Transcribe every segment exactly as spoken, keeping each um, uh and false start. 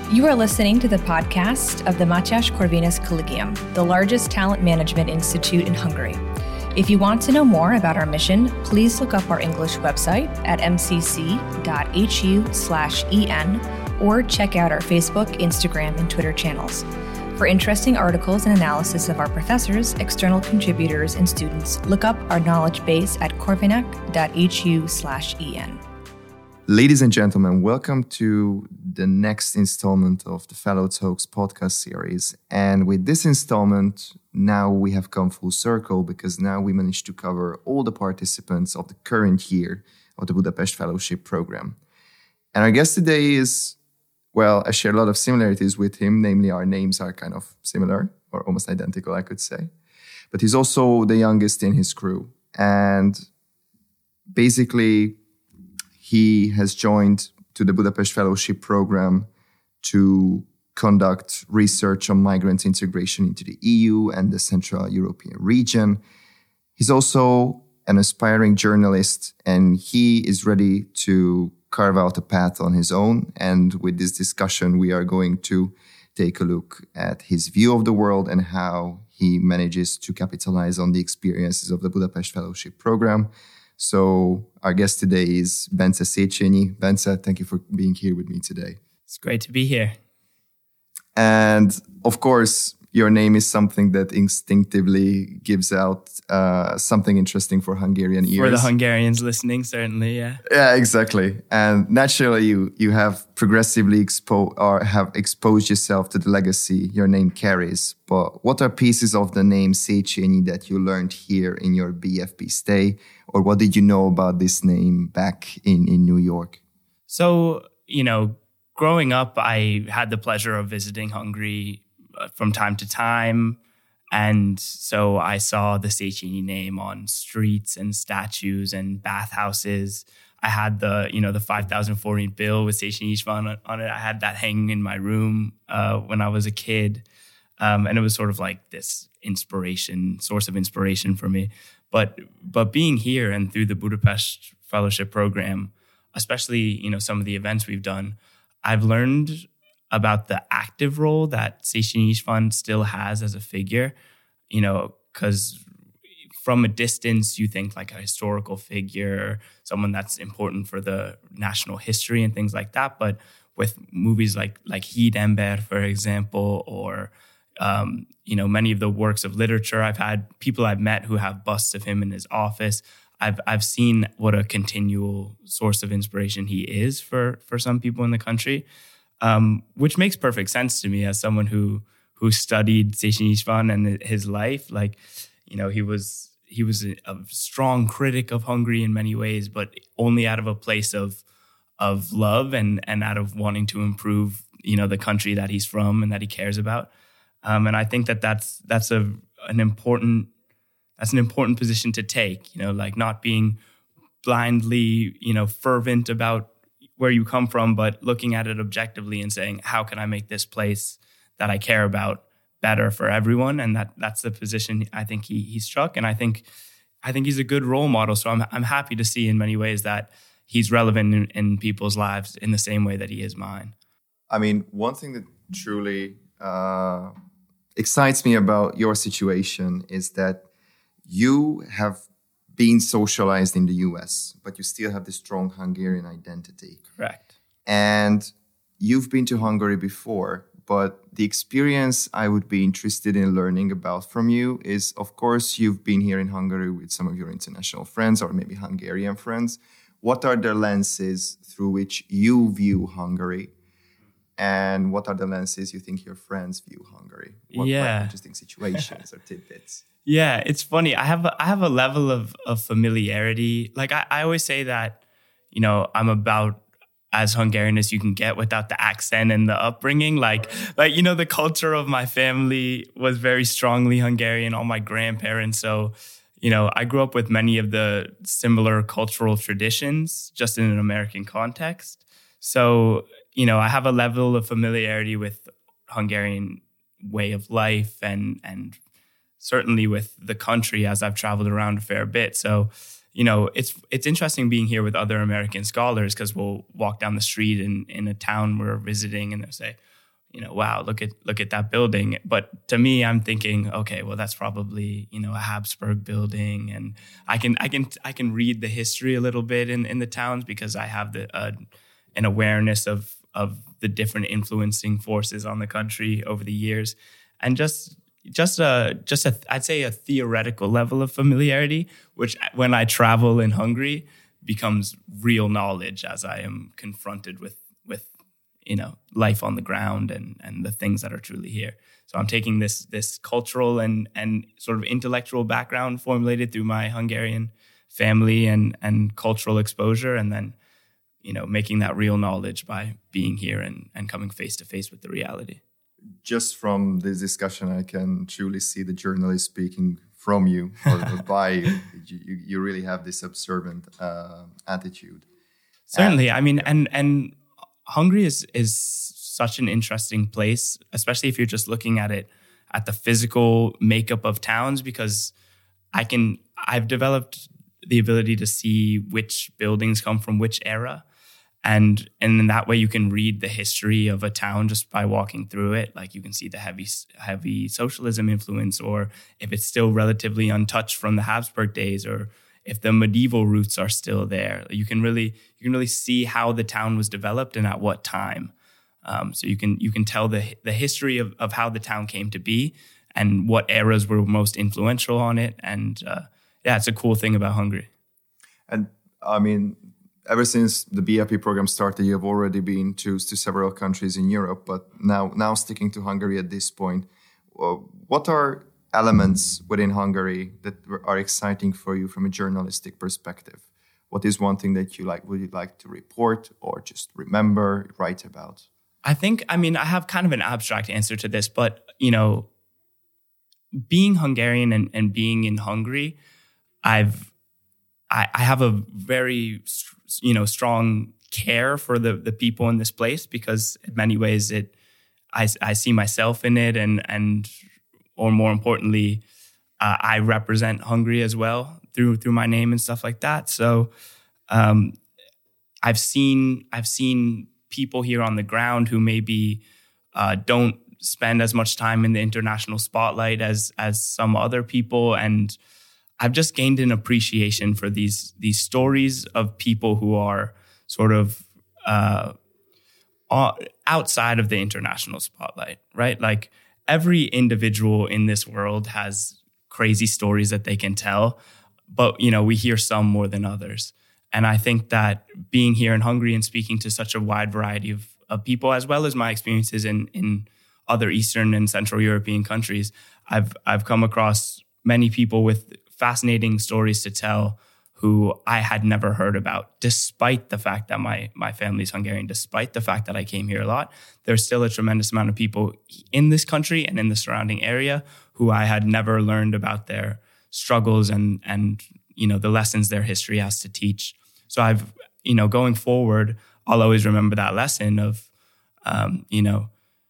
You are listening to the podcast of the Mátyás Corvinus Collegium, the largest talent management institute in Hungary. If you want to know more about our mission, please look up our English website at m c c dot h u slash e n or check out our Facebook, Instagram, and Twitter channels. For interesting articles and analysis of our professors, external contributors, and students, look up our knowledge base at corvinac dot h u slash e n. Ladies and gentlemen, welcome to the next installment of the Fellow Talks podcast series. And with this installment, now we have come full circle because now we managed to cover all the participants of the current year of the Budapest Fellowship Program. And our guest today is, well, I share a lot of similarities with him, namely our names are kind of similar or almost identical, I could say. But he's also the youngest in his crew. And basically, he has joined to the Budapest Fellowship Program to conduct research on migrant integration into the E U and the Central European region. He's also an aspiring journalist, and he is ready to carve out a path on his own. And with this discussion, we are going to take a look at his view of the world and how he manages to capitalize on the experiences of the Budapest Fellowship Program. So our guest today is Bence Széchenyi. Bence, thank you for being here with me today. It's great to be here. And of course, your name is something that instinctively gives out uh, something interesting for Hungarian ears. For the Hungarians listening, certainly, yeah. Yeah, exactly. And naturally, you you have progressively exposed or have exposed yourself to the legacy your name carries. But what are pieces of the name Széchenyi that you learned here in your B F P stay? Or what did you know about this name back in, in New York? So, you know, growing up, I had the pleasure of visiting Hungary from time to time. And so I saw the Széchenyi name on streets and statues and bathhouses. I had the, you know, the five thousand forint bill with Széchenyi István on it. I had that hanging in my room uh, when I was a kid. Um, and it was sort of like this inspiration, source of inspiration for me. But but being here and through the Budapest Fellowship Program, especially, you know, some of the events we've done, I've learned about the active role that Széchenyi István still has as a figure, you know, because from a distance, you think like a historical figure, someone that's important for the national history and things like that. But with movies like like Híd ember, for example, or Um, you know, many of the works of literature, I've had people I've met who have busts of him in his office. I've I've seen what a continual source of inspiration he is for for some people in the country, um, which makes perfect sense to me as someone who who studied Széchenyi István and his life. Like, you know, he was he was a, a strong critic of Hungary in many ways, but only out of a place of of love and and out of wanting to improve, you know, the country that he's from and that he cares about. Um, and I think that that's that's a an important that's an important position to take. You know, like not being blindly, you know, fervent about where you come from, but looking at it objectively and saying, how can I make this place that I care about better for everyone? And that that's the position I think he he struck. And I think I think he's a good role model. So I'm I'm happy to see in many ways that he's relevant in, in people's lives in the same way that he is mine. I mean, one thing that truly uh, excites me about your situation is that you have been socialized in the U S, but you still have this strong Hungarian identity. Correct. And you've been to Hungary before, but the experience I would be interested in learning about from you is, of course, you've been here in Hungary with some of your international friends or maybe Hungarian friends. What are the lenses through which you view Hungary? And what are the lenses you think your friends view Hungary? What yeah. interesting situations or tidbits? Yeah, it's funny. I have a, I have a level of of familiarity. Like I, I always say that, you know, I'm about as Hungarian as you can get without the accent and the upbringing. Like, like you know, the culture of my family was very strongly Hungarian. All my grandparents. So, you know, I grew up with many of the similar cultural traditions, just in an American context. So, you know, I have a level of familiarity with Hungarian way of life and and certainly with the country as I've traveled around a fair bit. So, you know, it's it's interesting being here with other American scholars because we'll walk down the street in, in a town we're visiting and they'll say, you know, wow, look at look at that building. But to me, I'm thinking, okay, well, that's probably, you know, a Habsburg building, and I can I can I can read the history a little bit in, in the towns because I have the uh, an awareness of of the different influencing forces on the country over the years, and just just a just a I'd say a theoretical level of familiarity, which when I travel in Hungary becomes real knowledge as I am confronted with with you know life on the ground and and the things that are truly here. So I'm taking this this cultural and and sort of intellectual background formulated through my Hungarian family and and cultural exposure, and then you know making that real knowledge by being here and and coming face to face with the reality. Just from this discussion, I can truly see the journalist speaking from you or by you. you. You really have this observant uh, attitude. Certainly, and, I mean, and and Hungary is is such an interesting place, especially if you're just looking at it at the physical makeup of towns, because I can I've developed the ability to see which buildings come from which era. And and in that way, you can read the history of a town just by walking through it. Like you can see the heavy heavy socialism influence, or if it's still relatively untouched from the Habsburg days, or if the medieval roots are still there. You can really you can really see how the town was developed and at what time. Um, so you can you can tell the the history of, of how the town came to be and what eras were most influential on it. And uh, yeah, it's a cool thing about Hungary. And I mean, ever since the B F P program started, you have already been to, to several countries in Europe, but now now sticking to Hungary at this point, uh, what are elements within Hungary that are exciting for you from a journalistic perspective? What is one thing that you like, would you like to report or just remember, write about? I think, I mean, I have kind of an abstract answer to this, but, you know, being Hungarian and, and being in Hungary, I've, I, I have a very, you know, strong care for the the people in this place, because in many ways it, I, I see myself in it, and and or more importantly, uh, I represent Hungary as well through through my name and stuff like that. So, um, I've seen I've seen people here on the ground who maybe uh, don't spend as much time in the international spotlight as as some other people, and I've just gained an appreciation for these these stories of people who are sort of uh, outside of the international spotlight, right? Like every individual in this world has crazy stories that they can tell, but you know we hear some more than others. And I think that being here in Hungary and speaking to such a wide variety of, of people, as well as my experiences in in other Eastern and Central European countries, I've I've come across many people with fascinating stories to tell who I had never heard about, despite the fact that my my family's Hungarian, despite the fact that I came here a lot. There's still a tremendous amount of people in this country and in the surrounding area who I had never learned about their struggles and and you know the lessons their history has to teach. So I've you know going forward, I'll always remember that lesson of um, you know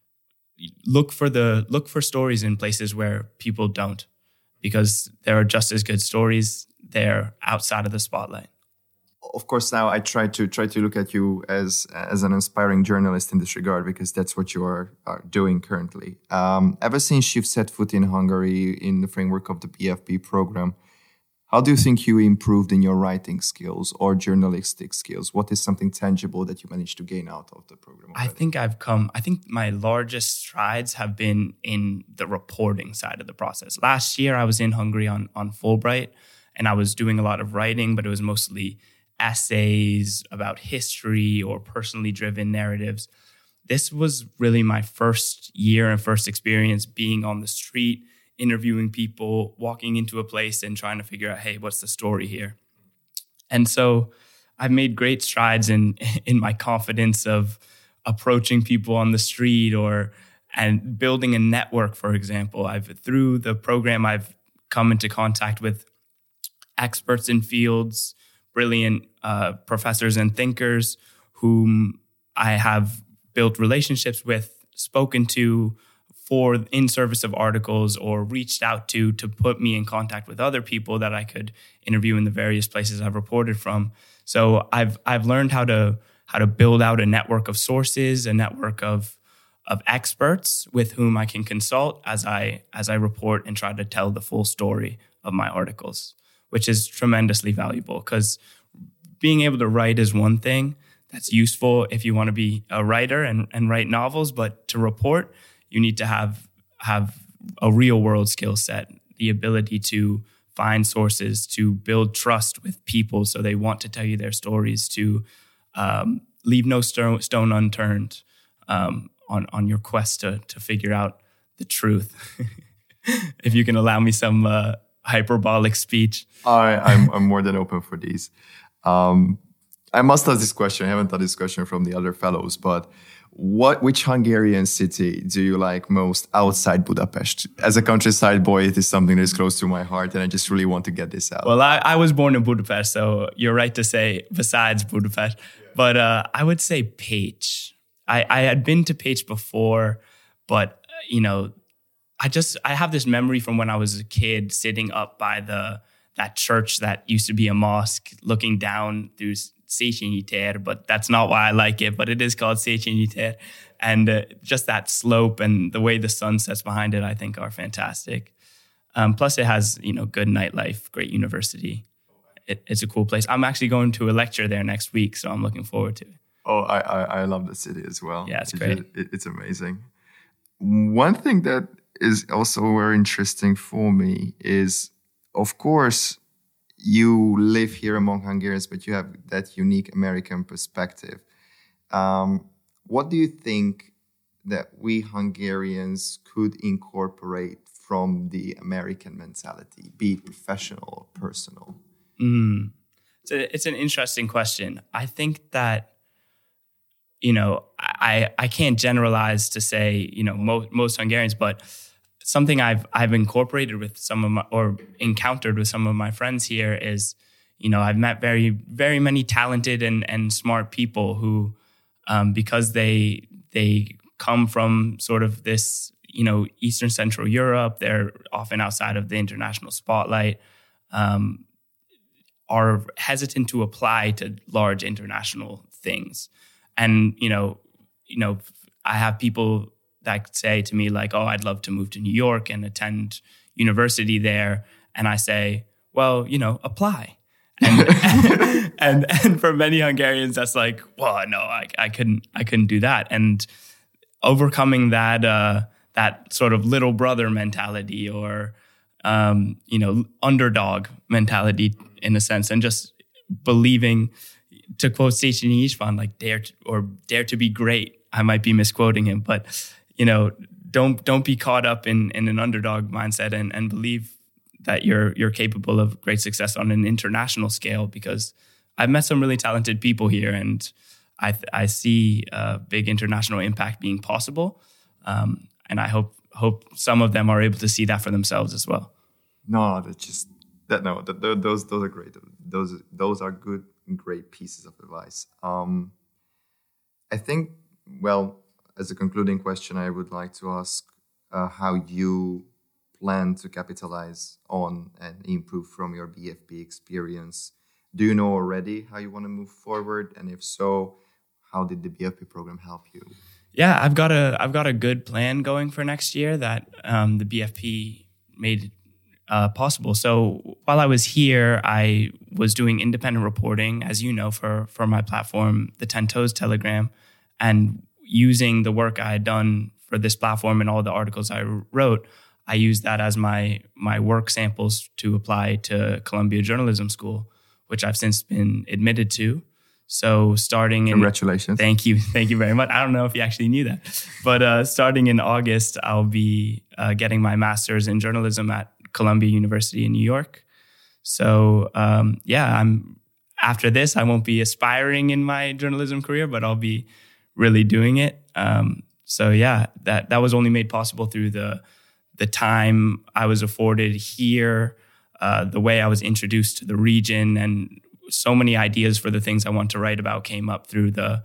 look for the look for stories in places where people don't, because there are just as good stories there outside of the spotlight. Of course, now I try to try to look at you as as an inspiring journalist in this regard, because that's what you are, are doing currently. Um, ever since you've set foot in Hungary in the framework of the B F P program, how do you think you improved in your writing skills or journalistic skills? What is something tangible that you managed to gain out of the program already? I think I've come, I think my largest strides have been in the reporting side of the process. Last year, I was in Hungary on, on Fulbright, and I was doing a lot of writing, but it was mostly essays about history or personally driven narratives. This was really my first year and first experience being on the street, interviewing people, walking into a place and trying to figure out, hey, what's the story here? And so I've made great strides in in my confidence of approaching people on the street or and building a network, for example. I've through the program, I've come into contact with experts in fields, brilliant uh, professors and thinkers whom I have built relationships with, spoken to, for in service of articles, or reached out to to put me in contact with other people that I could interview in the various places I've reported from. So I've I've learned how to how to build out a network of sources, a network of of experts with whom I can consult as I as I report and try to tell the full story of my articles, which is tremendously valuable, because being able to write is one thing that's useful if you want to be a writer and, and write novels, but to report, you need to have have a real world skill set, the ability to find sources, to build trust with people so they want to tell you their stories, to um, leave no stone, stone unturned um, on, on your quest to, to figure out the truth. If you can allow me some uh, hyperbolic speech. I, I'm, I'm more than open for these. Um, I must ask this question. I haven't had this question from the other fellows, but what, which Hungarian city do you like most outside Budapest? As a countryside boy, it is something that is close to my heart, and I just really want to get this out. Well, I, I was born in Budapest, so you're right to say besides Budapest. Yeah. But uh, I would say Pécs. I, I had been to Pécs before, but, you know, I just, I have this memory from when I was a kid sitting up by the that church that used to be a mosque, looking down through Széchenyi tér, but that's not why I like it, but it is called Széchenyi tér. And uh, just that slope and the way the sun sets behind it, I think are fantastic. Um, plus it has, you know, good nightlife, great university. It, it's a cool place. I'm actually going to a lecture there next week, so I'm looking forward to it. Oh, I I, I love the city as well. Yeah, it's it, great. It, it's amazing. One thing that is also very interesting for me is, of course, you live here among Hungarians, but you have that unique American perspective. Um, what do you think that we Hungarians could incorporate from the American mentality, be it professional or personal? Mm. It's, a, it's an interesting question. I think that, you know, I I can't generalize to say, you know, most, most Hungarians, but something I've I've incorporated with some of my, or encountered with some of my friends here is, you know, I've met very, very many talented and, and smart people who, um, because they they come from sort of this, you know, Eastern Central Europe, they're often outside of the international spotlight, um, are hesitant to apply to large international things. And, you know, you know, I have people that say to me like, oh, I'd love to move to New York and attend university there. And I say, well, you know, apply. And and, and for many Hungarians, that's like, well, no, I, I couldn't, I couldn't do that. And overcoming that, uh, that sort of little brother mentality or, um, you know, underdog mentality in a sense, and just believing, to quote Széchenyi István, like dare to, or dare to be great. I might be misquoting him, but you know, don't don't be caught up in, in an underdog mindset and, and believe that you're you're capable of great success on an international scale. Because I've met some really talented people here, and I I see a big international impact being possible, um, and I hope hope some of them are able to see that for themselves as well. No, that's just that. No, that, those those are great. Those those are good, great pieces of advice. Um, I think. Well, as a concluding question, I would like to ask uh, how you plan to capitalize on and improve from your B F P experience. Do you know already how you want to move forward? And if so, how did the B F P program help you? Yeah, I've got a I've got a good plan going for next year that um, the B F P made uh, possible. So while I was here, I was doing independent reporting, as you know, for for my platform, the Ten Toes Telegram, and using the work I had done for this platform and all the articles I wrote, I used that as my my work samples to apply to Columbia Journalism School, which I've since been admitted to. So starting in... Congratulations. Thank you. Thank you very much. I don't know if you actually knew that. But uh, starting in August, I'll be uh, getting my master's in journalism at Columbia University in New York. So um, yeah, I'm after this, I won't be aspiring in my journalism career, but I'll be really doing it. Um, so yeah, that that was only made possible through the the time I was afforded here, uh, the way I was introduced to the region, and so many ideas for the things I want to write about came up through the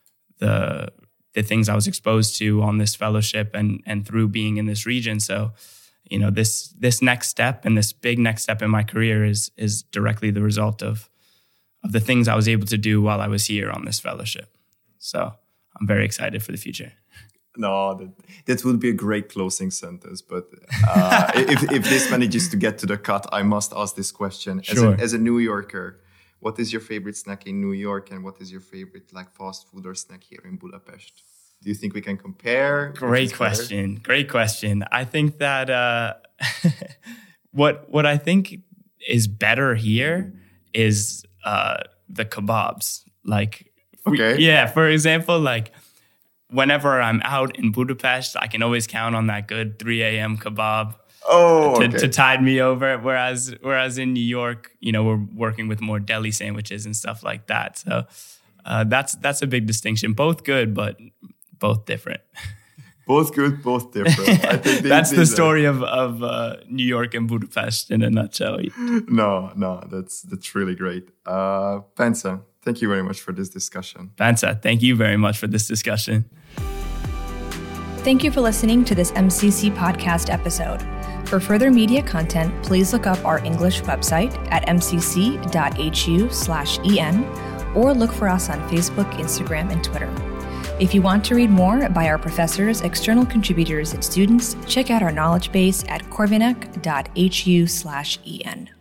the the things I was exposed to on this fellowship and and through being in this region. So, you know, this this next step and this big next step in my career is is directly the result of of the things I was able to do while I was here on this fellowship. So I'm very excited for the future. No, that, that would be a great closing sentence. But uh, if, if this manages to get to the cut, I must ask this question. Sure. As a, as a New Yorker, what is your favorite snack in New York, and what is your favorite like fast food or snack here in Budapest? Do you think we can compare? Great question. Great question. I think that uh, what what I think is better here is uh, the kebabs. Like, okay, we, yeah. For example, like whenever I'm out in Budapest, I can always count on that good three a.m. kebab. Oh, to, okay. to tide me over. Whereas, whereas in New York, you know, we're working with more deli sandwiches and stuff like that. So uh, that's that's a big distinction. Both good, but both different. Both good, both different. I think that's the story of of uh, New York and Budapest in a nutshell. No, no, that's that's really great. Uh, Bence, thank you very much for this discussion. Bence, thank you very much for this discussion. Thank you for listening to this M C C podcast episode. For further media content, please look up our English website at m c c dot h u slash e n or look for us on Facebook, Instagram, and Twitter. If you want to read more by our professors, external contributors, and students, check out our knowledge base at corvinec dot h u slash e n.